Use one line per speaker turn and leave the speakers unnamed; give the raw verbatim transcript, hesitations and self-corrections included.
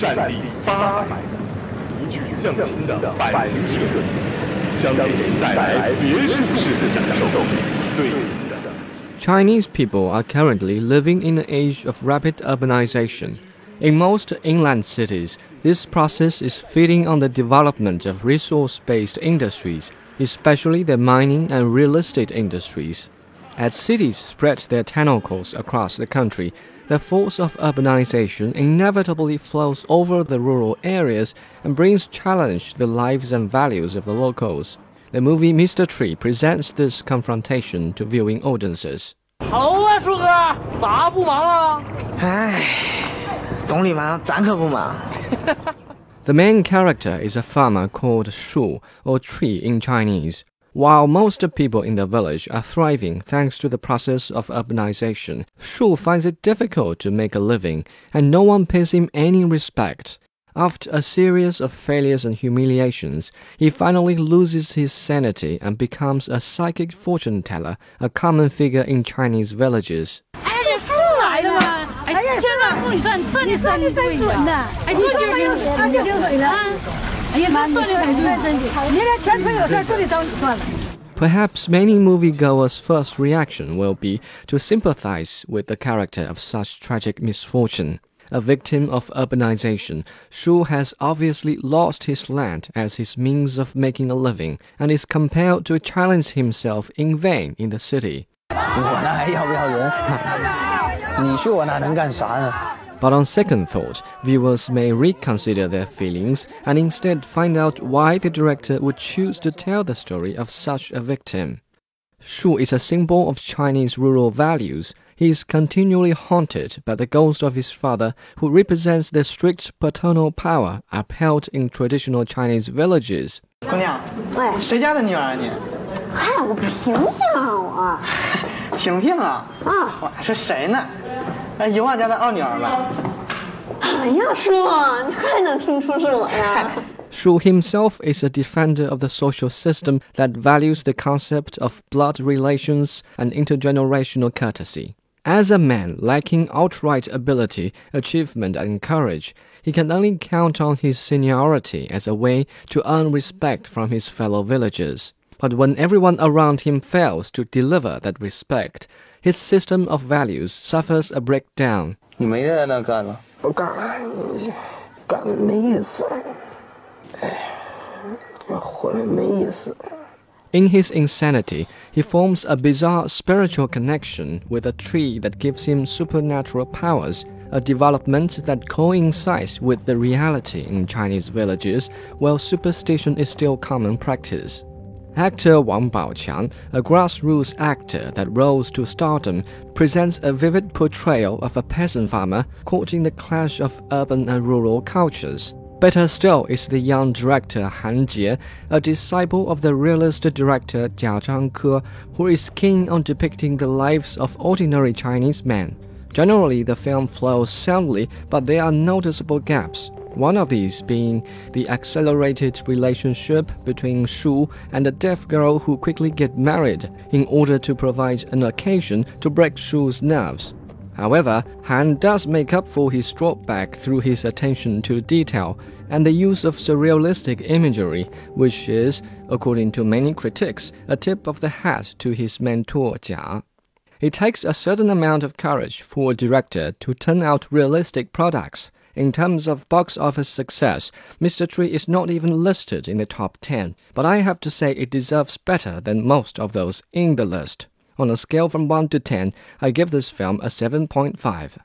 战力八百，无与相亲的百灵学，将给您带来别墅式的享受。对您的。
Chinese people are currently living in an age of rapid urbanization. In most inland cities, this process is feeding on the development of resource-based industries, especially the mining and real estate industries. As cities spread their tentacles across the country, the force of urbanization inevitably flows over the rural areas and brings challenge to the lives and values of the locals. The movie Mister Tree presents this confrontation to viewing audiences.
Hello 啊，树哥，咋不忙啊？
唉，总理忙，咱可不忙。
The main character is a farmer called Shu, or tree in Chinese. While most people in the village are thriving thanks to the process of urbanization, Shu finds it difficult to make a living, and no one pays him any respect. After a series of failures and humiliations, he finally loses his sanity and becomes a psychic fortune teller, a common figure in Chinese villages.
哎，这树来了吗？哎呀，天哪，你算算的算的真准呐！哎，说今儿领他就领水了。哎呀，这算的很准，你这全村有事都得找你算了。
Perhaps many moviegoers' first reaction will be to sympathize with the character of such tragic misfortune. A victim of urbanization, Shu has obviously lost his land as his means of making a living and is compelled to challenge himself in vain in the city.
我那还要不要人？你去我那能干啥呢？
But on second thought, viewers may reconsider their feelings and instead find out why the director would choose to tell the story of such a victim. Shu is a symbol of Chinese rural values. He is continually haunted by the ghost of his father, who represents the strict paternal power upheld in traditional Chinese villages.
姑娘，
喂，
谁家的女儿啊你？
嗨，我平平啊，我。
平平啊？
啊，
我是谁呢？哎，油旺家的二女儿吧？
哎呀，叔，你还能听出是我呀？
Shu himself is a defender of the social system that values the concept of blood relations and intergenerational courtesy. As a man lacking outright ability, achievement, and courage, he can only count on his seniority as a way to earn respect from his fellow villagers. But when everyone around him fails to deliver that respect, his system of values suffers a breakdown.
你没在那干了？我干了，干了没意思。哎，活了没意思。
In his insanity, he forms a bizarre spiritual connection with a tree that gives him supernatural powers, a development that coincides with the reality in Chinese villages, where superstition is still common practice. Actor Wang Baoqiang, a grassroots actor that rose to stardom, presents a vivid portrayal of a peasant farmer caught in the clash of urban and rural cultures. Better still is the young director Han Jie, a disciple of the realist director Jia Zhangke, who is keen on depicting the lives of ordinary Chinese men. Generally, the film flows soundly, but there are noticeable gaps. One of these being the accelerated relationship between Shu and a deaf girl who quickly get married in order to provide an occasion to break Shu's nerves. However, Han does make up for his drawback through his attention to detail and the use of surrealistic imagery, which is, according to many critics, a tip of the hat to his mentor Jia. It takes a certain amount of courage for a director to turn out realistic products. In terms of box office success, Mister Tree is not even listed in the top ten, but I have to say it deserves better than most of those in the list. On a scale from one to ten, I give this film a seven point five.